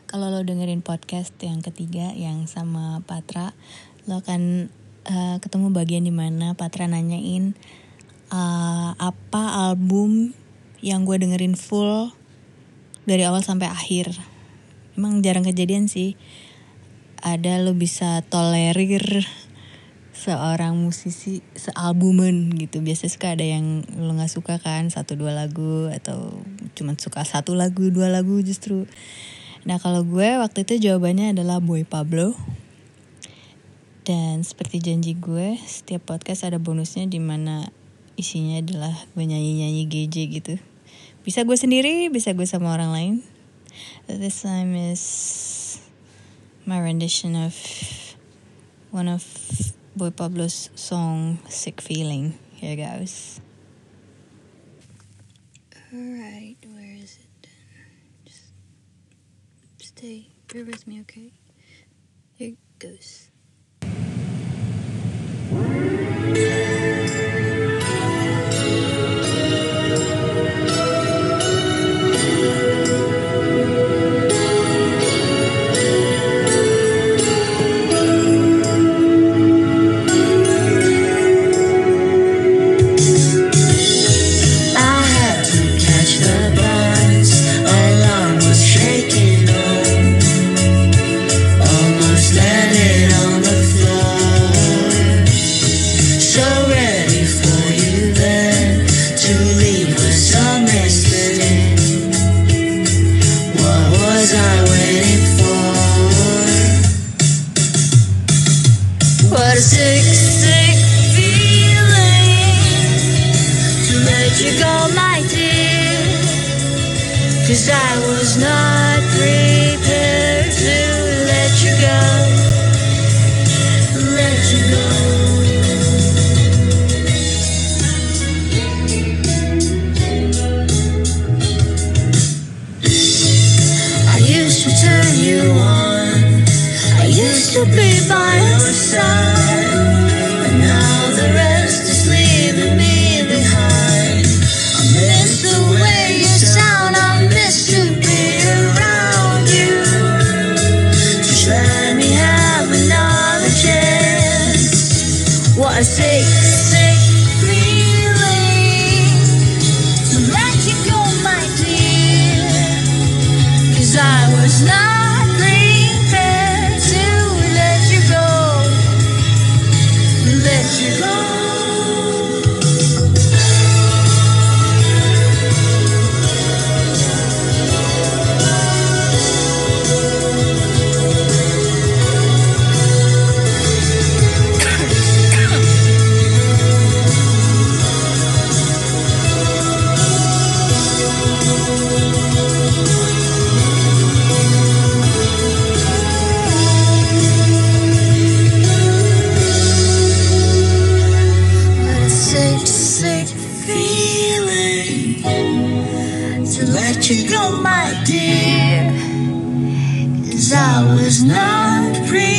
kalau lo dengerin podcast yang ketiga yang sama Patra, lo akan ketemu bagian dimana Patra nanyain apa album yang gue dengerin full dari awal sampai akhir. Emang jarang kejadian sih ada lo bisa tolerir seorang musisi sealbuman gitu. Biasanya suka ada yang lo gak suka kan, 1-2 lagu, atau cuma suka 1 lagu, 2 lagu justru. Nah kalau gue waktu itu jawabannya adalah Boy Pablo. Dan seperti janji gue, setiap podcast ada bonusnya dimana isinya adalah gue nyanyi-nyanyi GJ gitu. Bisa gue sendiri, bisa gue sama orang lain. This time is my rendition of one of Boy Pablo's song, Sick Feeling. Here goes. Alright, where is it then? Just stay, bear with me, okay? Here it goes. Cause I was not prepared to let you go, let you go. I used to turn you on, I used to be by your side, but now the rest is leaving me behind. I miss the way you sound, I miss to be around you. Just let me have another chance. What a sick, sick feeling to let you go, my dear. Cause I was not prepared to let you go, let you go. You go, my dear, 'cause I was not prepared.